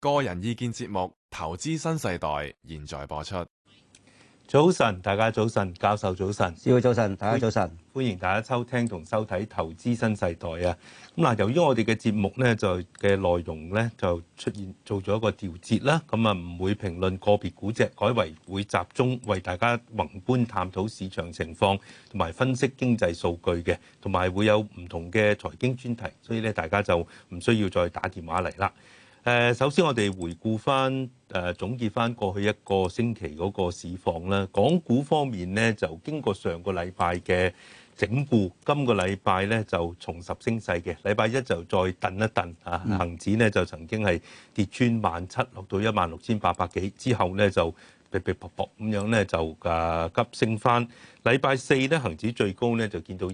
個人意見節目《投資新世代》現在播出。 早晨，大家早晨，教授早晨， 師傅早晨，大家早晨， 歡迎大家收聽同收睇《投資新世代》啊！咁嗱，由於我哋嘅節目咧就嘅內容咧就出現做咗一個調節啦，咁啊唔會評論個別股隻，改為會集中為大家宏觀探討市場情況同埋分析經濟數據嘅，同埋會有唔同嘅財經專題，所以咧大家就唔需要再打電話嚟啦。首先我哋回顧翻總結翻過去一個星期嗰個市況啦。港股方面咧就經過上個禮拜嘅整固，今個禮拜咧就重拾升勢嘅。禮拜一就再頓一頓啊，恆指咧就曾經係跌穿17,000，落到16,800幾，之後咧就嗶嗶啵啵咁樣咧就急升翻。禮拜四咧恆指最高咧就見到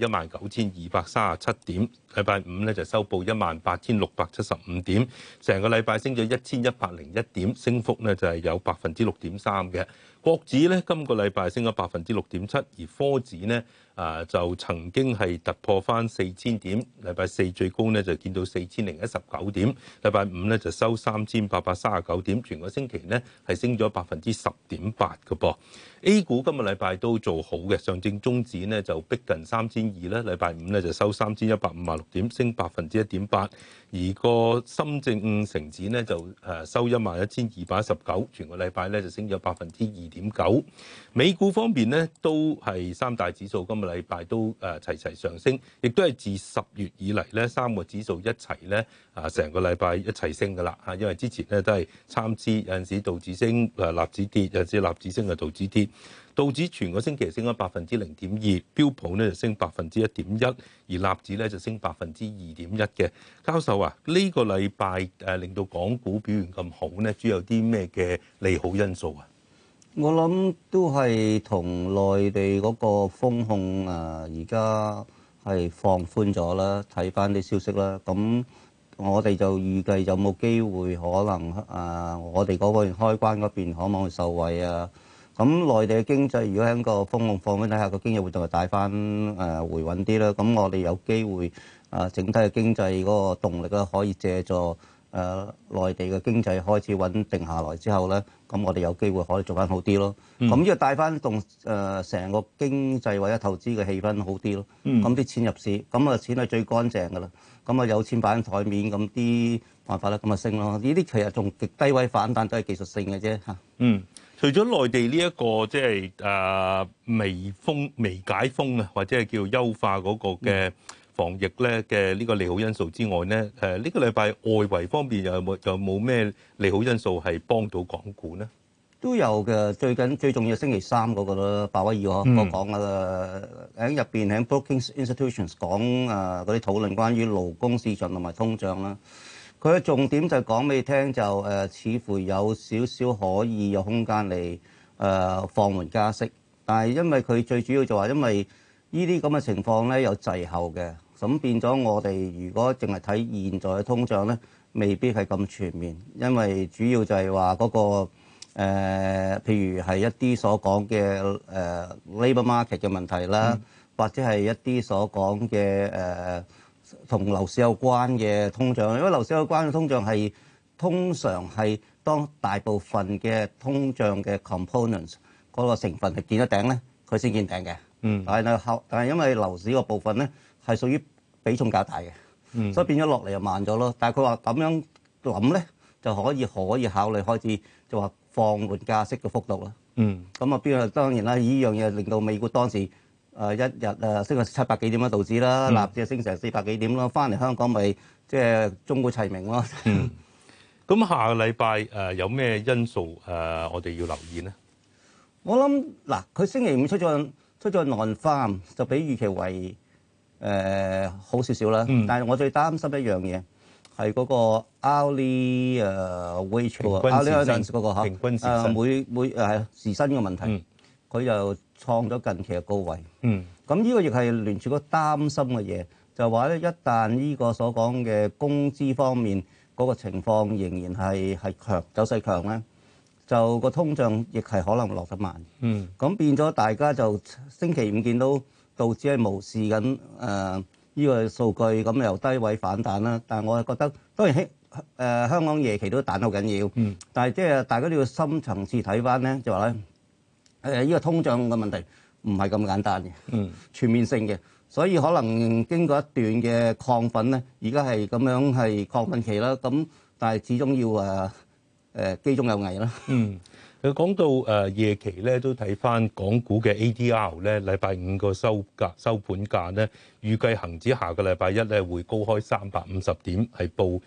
19,237點，禮拜五咧就收報18,675點，成個禮拜升咗1,101點，升幅咧就係有6.3%嘅。國指咧今個禮拜升咗6.7%，而科指咧就曾經係突破翻4,000點，禮拜四最高咧就見到4,019點，禮拜五咧就收3,839點，全個星期咧係升咗10.8%嘅噃。A 股今個禮拜都做好嘅，上證綜指咧就逼近3,200咧，禮拜五咧就收3,156點，升1.8%，而個深證成指咧就收11,219，全個禮拜咧就升咗2.9%。美股方面咧都係三大指數今個禮拜都齊齊上升，亦都係自10月以嚟咧三個指數一齊咧成個禮拜一齊升㗎啦嚇，因為之前咧都係參差，有陣時道指升納指跌，有陣時納指升道指跌。道指全個星期升咗0.2%，標普咧就升1.1%，而納指咧就升2.1%嘅。教授啊，呢個禮拜令到港股表現咁好咧，主要有啲咩嘅利好因素啊？ 我諗都係同內地嗰個風控而家係放寬咗啦，睇翻啲消息啦。咁我哋就預計有冇機會可能我哋嗰邊開關嗰邊可唔可以受惠啊？咁內地嘅經濟如果喺個風控放寬底下，個經濟活動係帶翻回穩啲啦。咁我哋有機會整體嘅經濟嗰個動力咧，可以借助內地嘅經濟開始穩定下來之後咧，咁我哋有機會可以做翻好啲咯。咁呢個帶翻動成個經濟或者投資嘅氣氛好啲咯。咁啲錢入市，咁啊錢係最乾淨㗎啦。咁啊有錢擺喺台面，咁啲辦法咧咁啊升咯。呢啲其實仲極低位反彈都係技術性嘅啫嚇。 除咗內地呢一個即係微解封啊，或者係叫優化嗰個嘅防疫咧嘅呢個利好因素之外咧，呢個禮拜外圍方面有冇咩利好因素係幫到港股咧？ 都有嘅，最重要星期三嗰個啦，鮑威爾我講喺入邊喺 Brookings Institutions 講嗰啲討論關於勞工市場同埋通脹啦。佢嘅重點就講俾你聽，就似乎有少少可以有空間嚟放緩加息，但係因為佢最主要就話，因為呢啲咁嘅情況咧有滯後嘅，咁變咗我哋如果淨係睇現在嘅通脹咧，未必係咁全面，因為主要就係話嗰個譬如係一啲所講嘅labour market 嘅問題啦，或者係一啲所講嘅同樓市有關嘅通脹，因為樓市有關嘅通脹係通常係當大部分嘅通脹嘅 components 嗰個成分係見得頂咧，佢先見頂嘅。但係因為樓市個部分咧係屬於比重較大嘅，所以變咗落嚟就慢咗咯。但係佢話咁樣諗咧，就可以考慮開始就話放緩加息嘅幅度啦。咁啊邊個當然啦，呢樣嘢令到美股當時一日升咗700幾點啦，道指啦，納指升成400幾點咯，翻嚟香港咪即係鐘鼓齊鳴咯。 咁下個禮拜有咩因素我哋要留意呢？ 我諗嗱，佢星期五出咗non-farm就比預期為好少少啦。但係我最擔心一樣嘢係嗰個 hourly wage 嗰個 hourly earnings 嗰個平均時薪每時薪嘅問題，佢就創咗近期嘅高位。咁呢個亦係聯儲局擔心嘅嘢，就話咧一旦呢個所講嘅工資方面嗰個情況仍然係強走勢強咧，就個通脹亦係可能落得慢。咁變咗大家就星期五見到道指係無視緊呢個數據，咁由低位反彈啦。但係我係覺得當然香港夜期都彈得好緊要，但係即係大家都要深層次睇翻咧，就話咧呢個通脹嘅問題唔係咁簡單嘅，全面性嘅，所以可能經過一段嘅亢奮咧，而家係咁樣係亢奮期啦，咁但係始終要機中有危啦。 佢講到夜期咧，都睇翻港股嘅 ADR 咧，禮拜五個收盤價咧，預計恆指下個禮拜一咧會高開350點，係報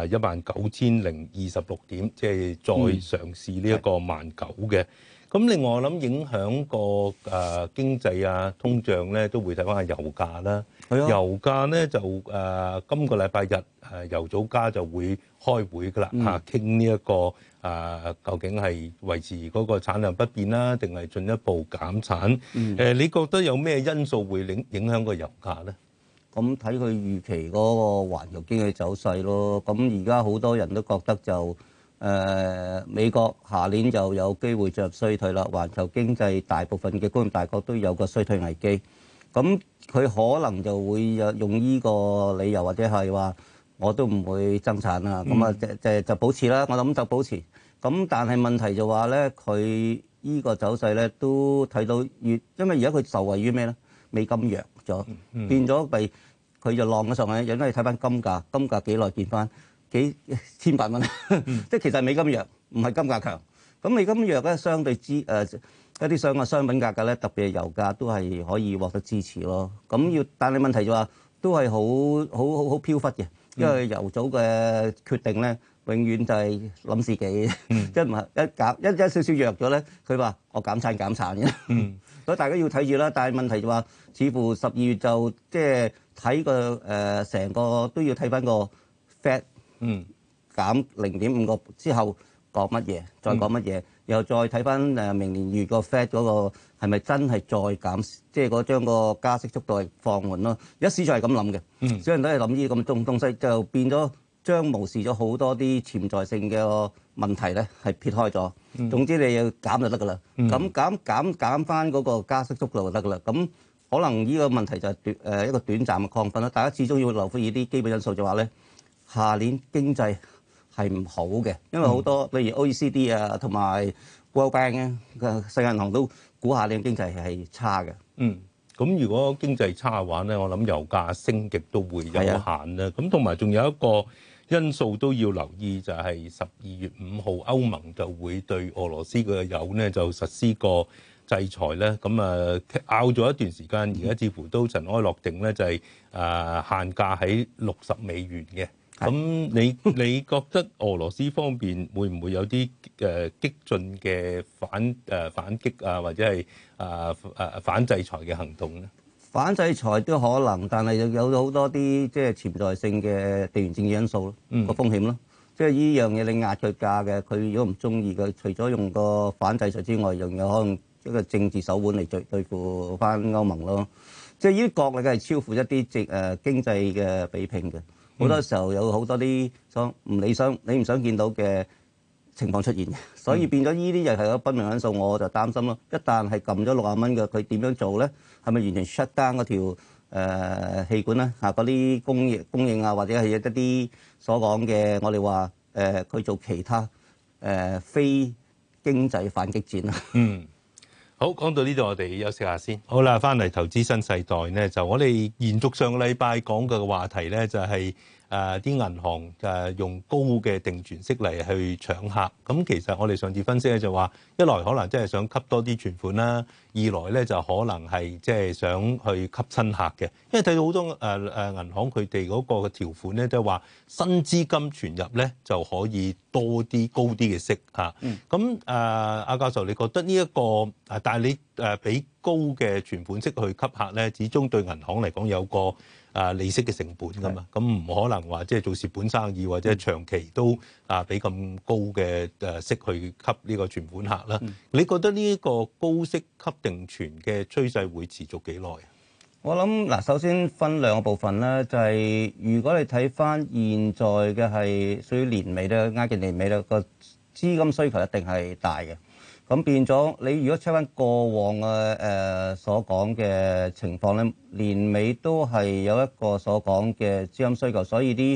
19,026點，即係再嘗試呢一個19,000嘅。咁另外我諗影響個經濟啊、通脹咧，都會睇翻下油價啦。油價咧就今個禮拜日油組家就會開會㗎啦嚇，傾呢一個究竟係維持嗰個產量不變啦，定係進一步減產？你覺得有咩因素會影響個油價咧？ 咁睇佢預期嗰個環球經濟走勢咯。咁而家好多人都覺得就美國下年就有機會進入衰退啦。環球經濟大部分嘅工業大國都有個衰退危機。咁佢可能就會用呢個理由，或者係話我都唔會增產啦。咁就保持啦。我諗就保持。咁但係問題就話咧，佢呢個走勢咧都睇到因為而家佢受惠於咩咧？美金弱咗，變咗咪佢就浪咗上去。因為睇翻金價幾耐見翻幾千百蚊，即係其實美金弱，唔係金價強。咁美金弱咧，相對一啲商品價格咧，特別係油價都係可以獲得支持咯。但係問題就話都係好飄忽嘅，因為油組嘅決定咧，永遠就係諗自己，即係唔係一少少弱咗咧，佢話我減產嘅。所以大家要睇住啦。但係問題就話，似乎12月就即係睇個成個都要睇翻個 Fed 減0.5個之後講乜嘢，再講乜嘢，又再睇翻明年月個 Fed 嗰個係咪真係再減，即係嗰將個加息速度係放緩咯。而家市場係咁諗嘅，所有人都係諗呢啲咁東西，就變咗將無視咗好多啲潛在性嘅問題咧，係撇開咗。總之你要減就得㗎啦，咁減翻嗰個加息速度就得㗎啦。咁可能呢個問題就係一個短暫嘅亢奮啦。大家始終要留意啲基本因素，就話咧，下年經濟係唔好嘅，因為好多例如 OECD 啊同埋 World Bank 嘅世界銀行都估下年經濟係差嘅。 咁如果經濟差嘅話咧，我諗油價升極都會有限啦。咁同埋仲有一個因素都要留意，就係12月5號歐盟就會對俄羅斯嘅油咧就實施個制裁咧。咁拗咗一段時間，而家似乎都塵埃落定咧，就係限價喺$60嘅。咁你覺得俄羅斯方面會唔會有啲激進嘅反擊啊，或者係反制裁嘅行動咧？ 反制裁都可能，但係有好多啲即係潛在性嘅地緣政治因素咯，個風險咯。即係呢樣嘢你壓佢價嘅，佢如果唔中意嘅，除咗用個反制裁之外，仲有可能一個政治手腕嚟對付翻歐盟咯。即係呢啲國力係超乎一啲經濟嘅比拼嘅。好多時候有好多啲唔理想、你唔想見到嘅情況出現嘅，所以變咗呢啲又係個不明因素，我就擔心咯。一旦係撳咗60蚊嘅，佢點樣做咧？係咪完全 shut down 嗰條氣管咧？嗰啲供應啊，或者係一啲所講嘅我哋話佢做其他非經濟反擊戰啊？ 好，講到呢度，我哋休息下先。好啦，翻嚟投資新世代咧，就我哋延續上個禮拜講嘅話題咧，就係啲銀行用高嘅定存息嚟去搶客。咁其實我哋上次分析咧就話，一來可能真係想吸多啲存款啦，二來咧就可能係即係想去吸新客嘅。因為睇到好多銀行佢哋嗰個條款咧，都係話新資金存入咧就可以多啲高啲嘅息嚇。咁阿教授，你覺得呢一個但係你俾高嘅存款息去吸客咧，始終對銀行嚟講有個利息嘅成本㗎嘛，咁唔可能話即係做蝕本生意或者長期都俾咁高嘅息去吸呢個存款客啦。你覺得呢一個高息吸定存嘅趨勢會持續幾耐啊？ 我諗嗱，首先分兩個部分啦，就係如果你睇翻現在嘅係屬於年尾咧，挨近年尾咧，個資金需求一定係大嘅。咁變咗，你如果 check 翻過往嘅所講嘅情況咧，年尾都係有一個所講嘅資金需求，所以啲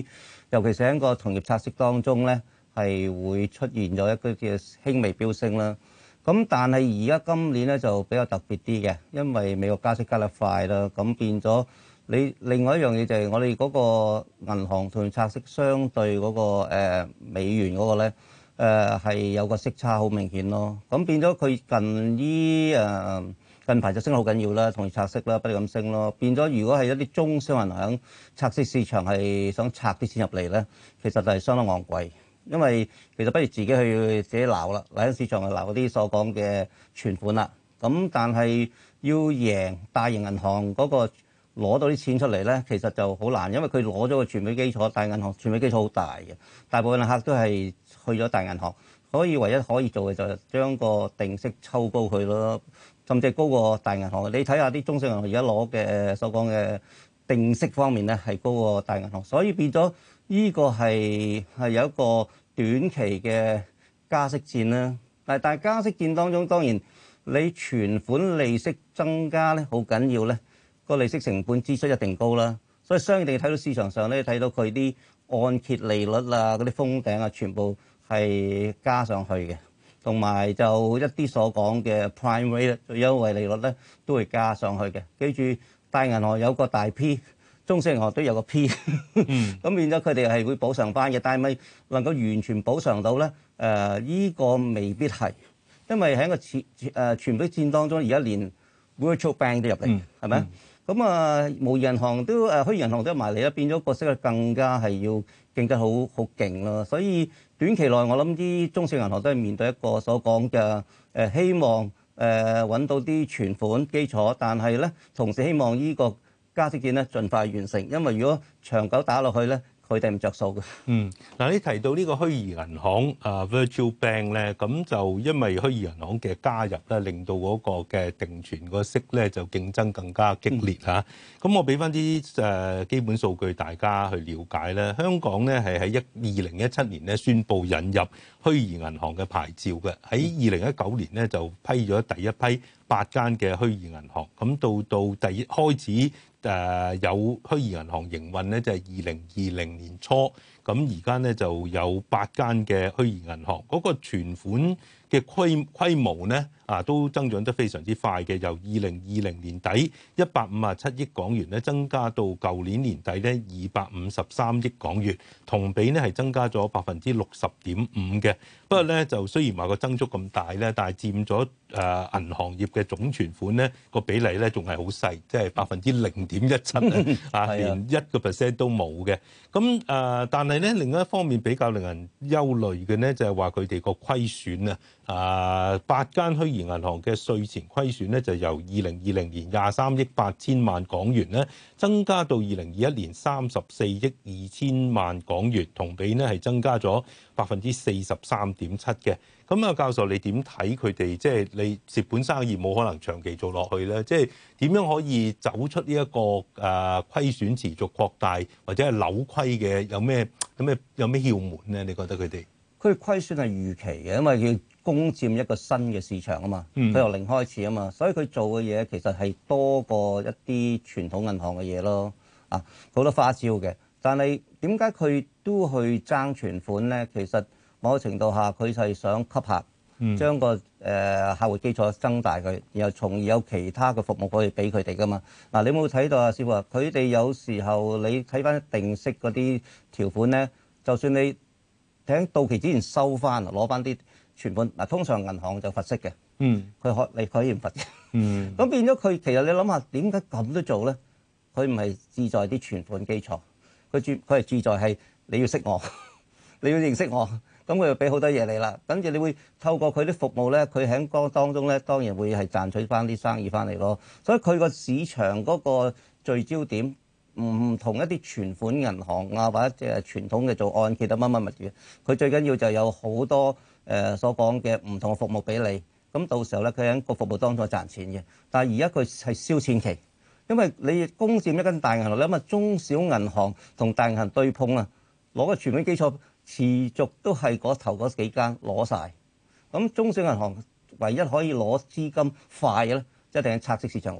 尤其是喺個同業拆息當中咧，係會出現咗一個叫輕微飆升啦。咁但係而家今年咧就比較特別啲嘅，因為美國加息加得快啦，咁變咗你另外一樣嘢就係我哋嗰個銀行同業拆息相對嗰個美元嗰個咧係有個息差好明顯咯。咁變咗佢近排就升得好緊要啦，同業拆息啦不斷咁升咯。變咗如果係一啲中小銀行拆息市場係想拆啲錢入嚟咧，其實就係相當昂貴。因為其實不如自己去自己撈啦，喺市場去撈嗰啲所講嘅存款啦。咁但係要贏大型銀行嗰個攞到啲錢出嚟咧，其實就好難，因為佢攞咗個存款基礎，大銀行存款基礎好大嘅，大部分客都係去咗大銀行，所以唯一可以做嘅就係將個定息抽高佢咯，甚至係高過大銀行。你睇下啲中小銀行而家攞嘅所講嘅定息方面咧，係高過大銀行，所以變咗。呢個係有一個短期嘅加息戰啦，但係加息戰當中，當然你存款利息增加咧，好緊要咧，個利息成本支出一定高啦，所以相應地睇到市場上咧，睇到佢啲按揭利率啊、嗰啲封頂啊，全部係加上去嘅，同埋就一啲所講嘅 prime rate 最優惠利率咧，都會加上去嘅。記住，大銀行有個大 P。中小銀行都有個 P，咁變咗佢哋係會補償翻嘅，但係咪能夠完全補償到咧？依個未必係，因為喺個存款戰當中，而家連 virtual bank 都入嚟，係咪？咁模擬銀行都虛擬銀行都入埋嚟啦，變咗個息率更加係要競爭好勁咯。所以短期內我諗啲中小銀行都係面對一個所講嘅希望揾到啲存款基礎，但係咧同時希望依個加息戰咧，盡快完成，因為如果長久打落去咧，佢哋唔着數嘅。 嗱，你提到呢個虛擬銀行Virtual Bank 咧，咁就因為虛擬銀行嘅加入咧，令到嗰個嘅定存個息咧就競爭更加激烈嚇。咁我俾翻啲基本數據大家去了解咧。香港咧係喺2017年咧宣布引入虛擬銀行嘅牌照嘅，喺2019年咧就批咗第一批8間嘅虛擬銀行，咁到開始有虛擬銀行營運咧，就係2020年初，咁而家咧就有8間嘅虛擬銀行，嗰個存款嘅規模咧都增長得非常之快嘅，由2020年底157億港元咧增加到舊年年底咧253億港元，同比咧係增加咗60.5%嘅。不過咧就雖然話個增速咁大咧，但係佔咗銀行業嘅總存款咧個比例咧仲係好細，即係0.17%連1% 都冇嘅。咁但係咧另一方面比較令人憂慮嘅咧就係話佢哋個虧損8間虛擬銀行嘅稅前虧損咧就由2020年23億8千萬港元咧增加到2021年34億2千萬港元，同比咧係增加咗43.7%嘅。咁教授你點睇佢哋？即係你蝕本生意冇可能長期做落去咧，即係點樣可以走出呢一個虧損持續擴大或者係扭虧嘅？有咩竅門咧？你覺得佢哋？ 佢虧損係預期嘅，因為要攻佔一個新嘅市場啊嘛，佢由零開始啊嘛，所以佢做嘅嘢其實係多過一啲傳統銀行嘅嘢咯。好多花招嘅，但係點解佢都去爭存款咧？其實某個程度下，佢係想吸客，將個客戶基礎增大佢，然後從而有其他嘅服務可以俾佢哋噶嘛。你有冇睇到啊，師傅啊？佢哋有時候你睇翻定息嗰啲條款咧，就算你喺到期之前收翻攞翻啲存款，通常銀行就罰息嘅，佢可以唔罰嘅。咁變咗佢其實你諗下點解咁都做咧？佢唔係志在啲存款基礎，佢係志在係你要識我，你要認識我。咁佢就俾好多嘢你啦，跟住你會透過佢啲服務咧，佢喺當中咧當然會係賺取翻啲生意翻嚟咯。所以佢個市場嗰個聚焦點唔同一啲存款銀行或者傳統嘅做按揭乜乜物嘅，佢最緊要就有好多所講嘅唔同嘅服務俾你。咁到時候咧，佢喺個服務當中賺錢嘅。但係而家佢係燒錢期，因為你攻佔一間大銀行，你諗下中小銀行同大銀行對碰攞個存款基礎。持續都係嗰頭嗰幾間攞晒，咁中小銀行唯一可以攞資金快嘅咧，一定係拆息市場攞。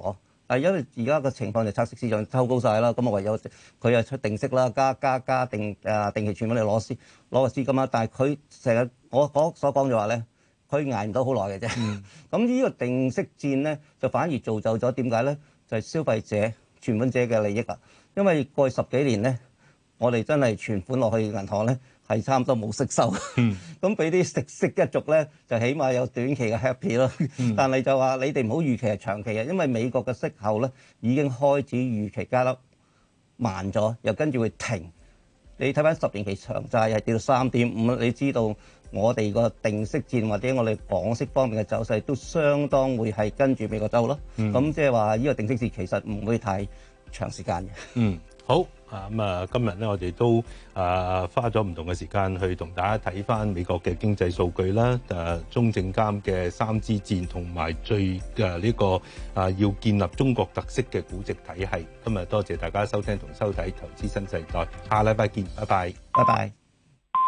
但係因為而家個情況就拆息市場抽高晒啦，咁我唯有佢又出定息啦，加定期存款嚟攞個資金啦。但係佢成日我所講就話咧，佢捱唔到好耐嘅啫。咁呢個定息戰咧，就反而造就咗點解咧？就係消費者、存款者嘅利益啦。因為過去10幾年咧，我哋真係存款落去銀行咧，係差唔多冇息收。咁俾啲食息一族咧，就起碼有短期嘅 happy 咯。但係就話你哋唔好預期係長期嘅，因為美國嘅息口咧已經開始預期加得慢咗，又跟住會停。你睇翻10年期長債係跌到3.5，你知道我哋個定息戰或者我哋港息方面嘅走勢都相當會係跟住美國走咯。咁即係話呢個定息戰其實唔會太長時間嘅。 好啊，今日咧我哋都花咗唔同嘅時間去同大家睇翻美國嘅經濟數據啦，中證監嘅3支箭同埋最呢個要建立中國特色嘅估值體系。今日多謝大家收聽同收睇《投資新世代》，下禮拜見，拜拜， 拜拜。